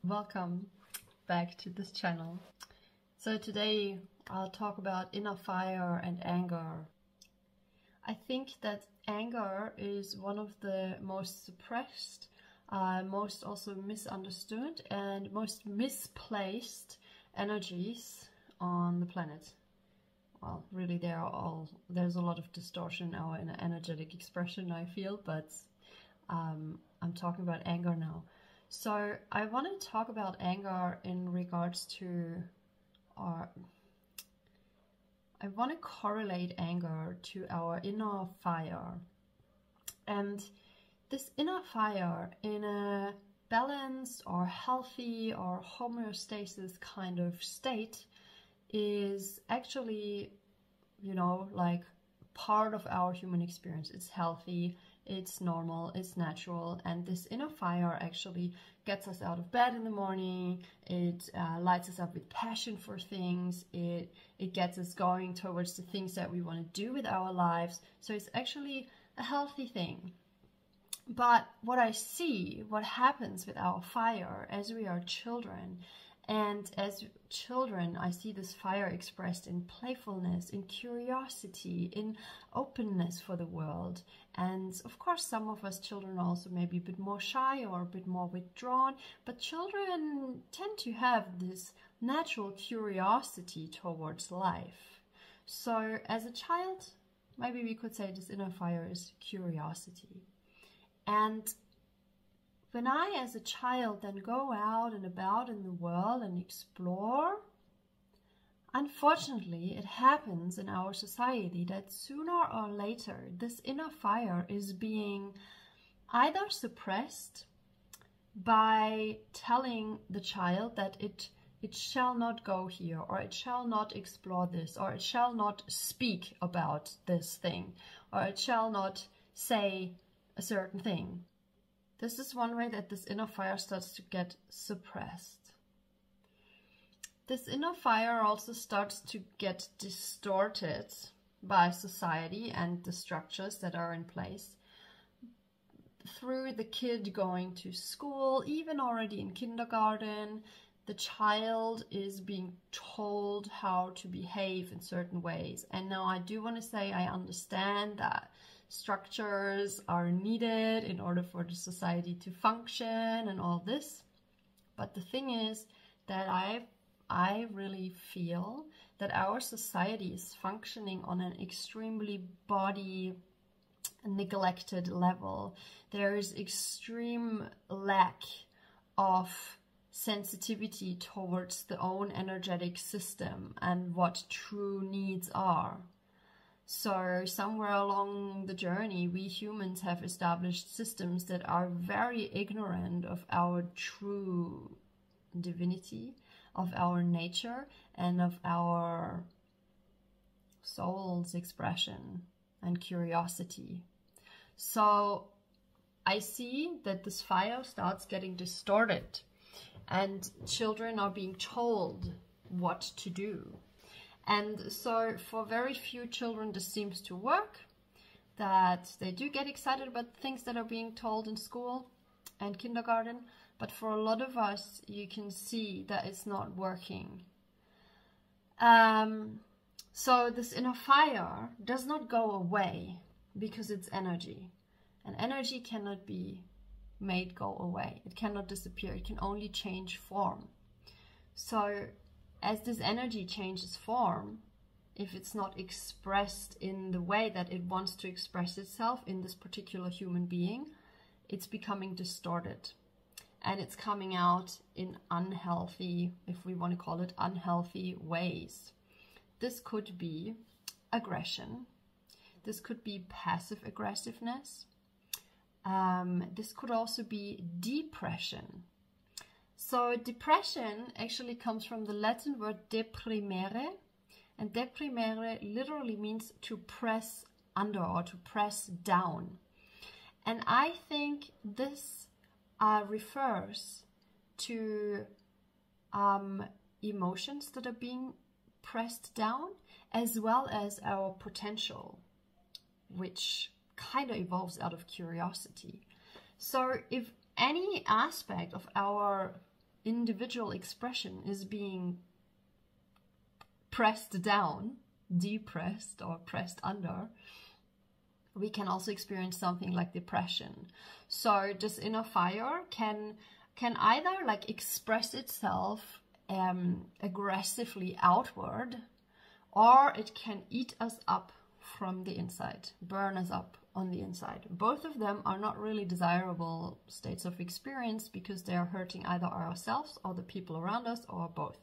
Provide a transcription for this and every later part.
Welcome back to this channel. So today I'll talk about inner fire and anger. I think that anger is one of the most suppressed, most also misunderstood and most misplaced energies on the planet. Well, really there's a lot of distortion in our energetic expression, I feel, but I'm talking about anger now. So I want to talk about anger in regards to I want to correlate anger to our inner fire. And this inner fire in a balanced or healthy or homeostasis kind of state is actually, like part of our human experience. It's healthy, it's normal, it's natural, and this inner fire actually gets us out of bed in the morning. It lights us up with passion for things. It gets us going towards the things that we want to do with our lives. So it's actually a healthy thing. But what I see, what happens with our fire as we are children, and as children, I see this fire expressed in playfulness, in curiosity, in openness for the world. And of course, some of us children also may be a bit more shy or a bit more withdrawn, but children tend to have this natural curiosity towards life. So as a child, maybe we could say this inner fire is curiosity. And when I, as a child, then go out and about in the world and explore, unfortunately, it happens in our society that sooner or later, this inner fire is being either suppressed by telling the child that it shall not go here, or it shall not explore this, or it shall not speak about this thing, or it shall not say a certain thing. This is one way that this inner fire starts to get suppressed. This inner fire also starts to get distorted by society and the structures that are in place. Through the kid going to school, even already in kindergarten, the child is being told how to behave in certain ways. And now I do want to say I understand that structures are needed in order for the society to function and all this. But the thing is that I really feel that our society is functioning on an extremely body neglected level. There is extreme lack of sensitivity towards the own energetic system and what true needs are. So somewhere along the journey, we humans have established systems that are very ignorant of our true divinity, of our nature, and of our soul's expression and curiosity. So I see that this fire starts getting distorted, and children are being told what to do. And so for very few children this seems to work, that they do get excited about things that are being told in school and kindergarten, but for a lot of us you can see that it's not working. So this inner fire does not go away because it's energy, and energy cannot be made go away. It cannot disappear. It can only change form. So as this energy changes form, if it's not expressed in the way that it wants to express itself in this particular human being, it's becoming distorted. And it's coming out in unhealthy, if we want to call it unhealthy ways. This could be aggression. This could be passive aggressiveness. This could also be depression. So depression actually comes from the Latin word deprimere, and deprimere literally means to press under or to press down. And I think this refers to emotions that are being pressed down, as well as our potential, which kind of evolves out of curiosity. So if any aspect of our individual expression is being pressed down, depressed or pressed under, we can also experience something like depression. So this inner fire can either like express itself aggressively outward, or it can eat us up from the inside, burn us up on the inside. Both of them are not really desirable states of experience because they are hurting either ourselves or the people around us, or both.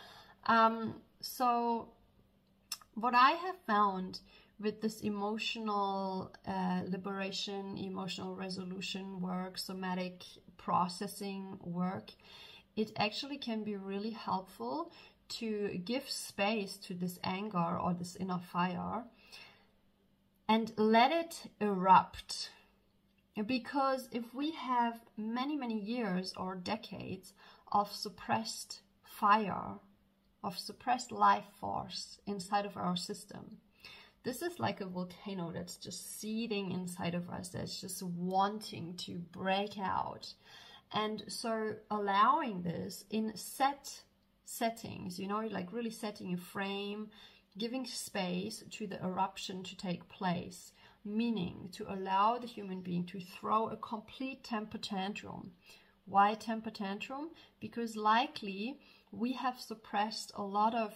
So what I have found with this emotional liberation, emotional resolution work, somatic processing work, it actually can be really helpful to give space to this anger or this inner fire and let it erupt. Because if we have many, many years or decades of suppressed fire, of suppressed life force inside of our system, this is like a volcano that's just seething inside of us, that's just wanting to break out. And so allowing this in settings, you know, like really setting a frame, giving space to the eruption to take place, meaning to allow the human being to throw a complete temper tantrum. Why temper tantrum? Because likely we have suppressed a lot of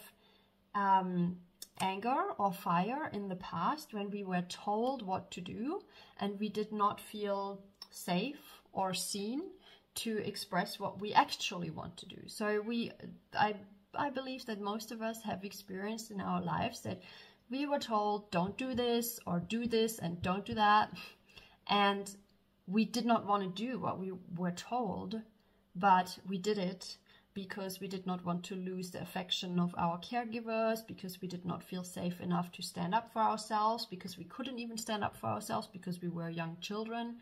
anger or fire in the past when we were told what to do and we did not feel safe or seen to express what we actually want to do. So I believe that most of us have experienced in our lives that we were told don't do this or do this and don't do that, and we did not want to do what we were told, but we did it because we did not want to lose the affection of our caregivers, because we did not feel safe enough to stand up for ourselves, because we couldn't even stand up for ourselves because we were young children,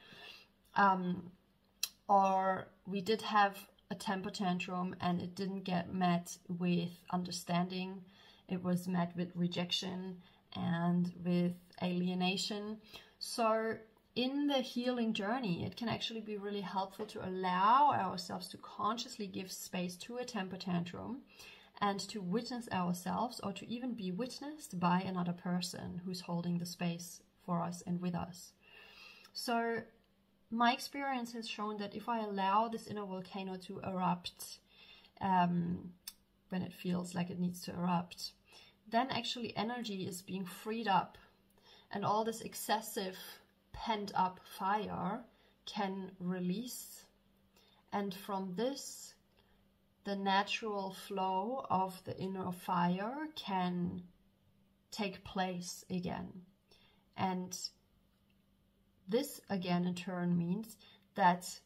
or we did have a temper tantrum and it didn't get met with understanding. It was met with rejection and with alienation. So in the healing journey, it can actually be really helpful to allow ourselves to consciously give space to a temper tantrum and to witness ourselves, or to even be witnessed by another person who's holding the space for us and with us. So my experience has shown that if I allow this inner volcano to erupt when it feels like it needs to erupt, then actually energy is being freed up, and all this excessive pent up fire can release, and from this the natural flow of the inner fire can take place again. And this again in turn means that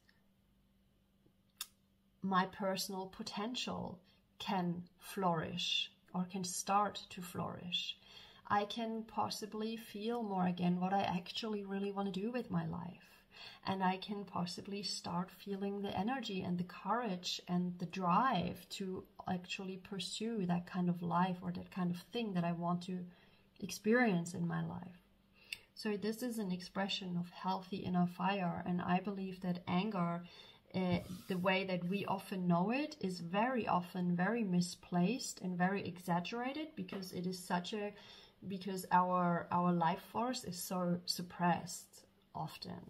my personal potential can flourish, or can start to flourish. I can possibly feel more again what I actually really want to do with my life. And I can possibly start feeling the energy and the courage and the drive to actually pursue that kind of life or that kind of thing that I want to experience in my life. So this is an expression of healthy inner fire, and I believe that anger, the way that we often know it, is very often very misplaced and very exaggerated, because it is because our life force is so suppressed often.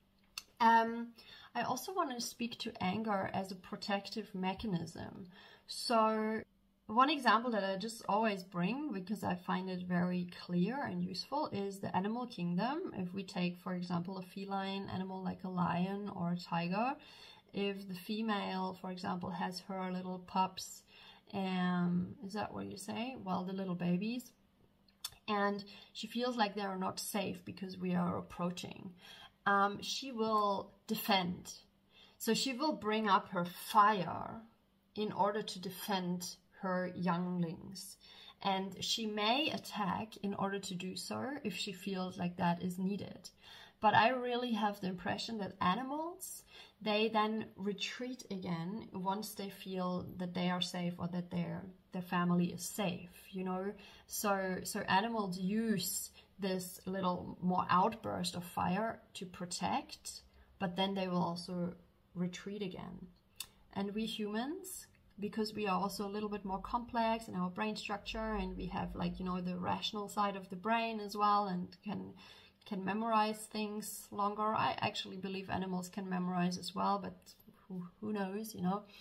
I also want to speak to anger as a protective mechanism. So one example that I just always bring, because I find it very clear and useful, is the animal kingdom. If we take, for example, a feline animal like a lion or a tiger, if the female, for example, has her little pups, is that what you say? Well, the little babies, and she feels like they are not safe because we are approaching, she will defend. So she will bring up her fire in order to defend her younglings, and she may attack in order to do so if she feels like that is needed. But I really have the impression that animals, they then retreat again once they feel that they are safe, or that their family is safe, you know. So animals use this little more outburst of fire to protect, but then they will also retreat again. And we humans, because we are also a little bit more complex in our brain structure, and we have, like, you know, the rational side of the brain as well, and can memorize things longer. I actually believe animals can memorize as well, but who knows, you know.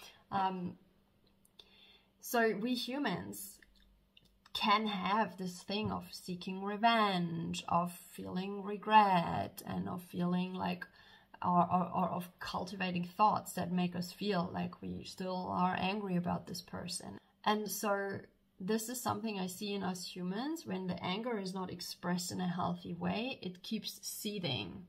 So we humans can have this thing of seeking revenge, of feeling regret, and of feeling like, or of cultivating thoughts that make us feel like we still are angry about this person. And so this is something I see in us humans. When the anger is not expressed in a healthy way, it keeps seething.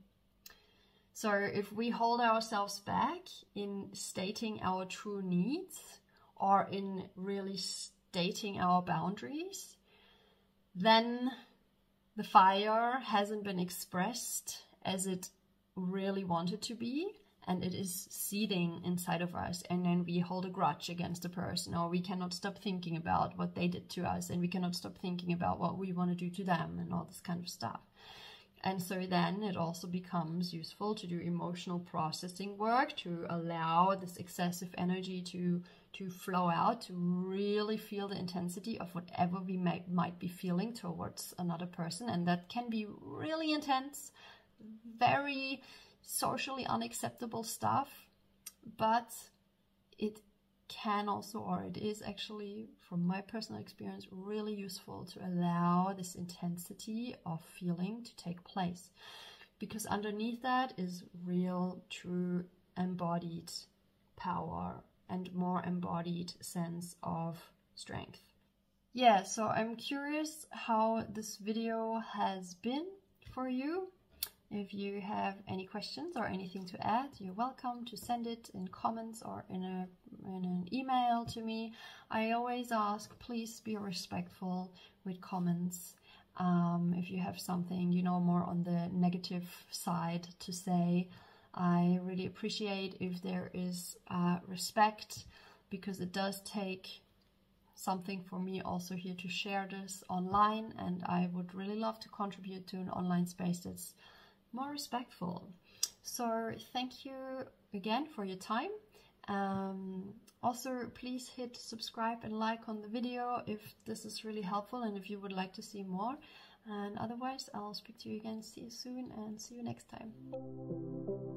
So if we hold ourselves back in stating our true needs, or in really stating our boundaries, then the fire hasn't been expressed as it really wanted to be, and it is seething inside of us, and then we hold a grudge against a person, or we cannot stop thinking about what they did to us, and we cannot stop thinking about what we want to do to them, and all this kind of stuff. And so then it also becomes useful to do emotional processing work, to allow this excessive energy to flow out, to really feel the intensity of whatever we might be feeling towards another person. And that can be really intense, very socially unacceptable stuff, but it can also, or it is actually, from my personal experience, really useful to allow this intensity of feeling to take place, because underneath that is real, true, embodied power and more embodied sense of strength. Yeah, so I'm curious how this video has been for you. If you have any questions or anything to add, you're welcome to send it in comments or in an email to me. I always ask, please be respectful with comments. If you have something, you know, more on the negative side to say, I really appreciate if there is respect, because it does take something for me also here to share this online, and I would really love to contribute to an online space that's more respectful. So thank you again for your time. Also, please hit subscribe and like on the video if this is really helpful and if you would like to see more. And otherwise, I'll speak to you again. See you soon, and see you next time.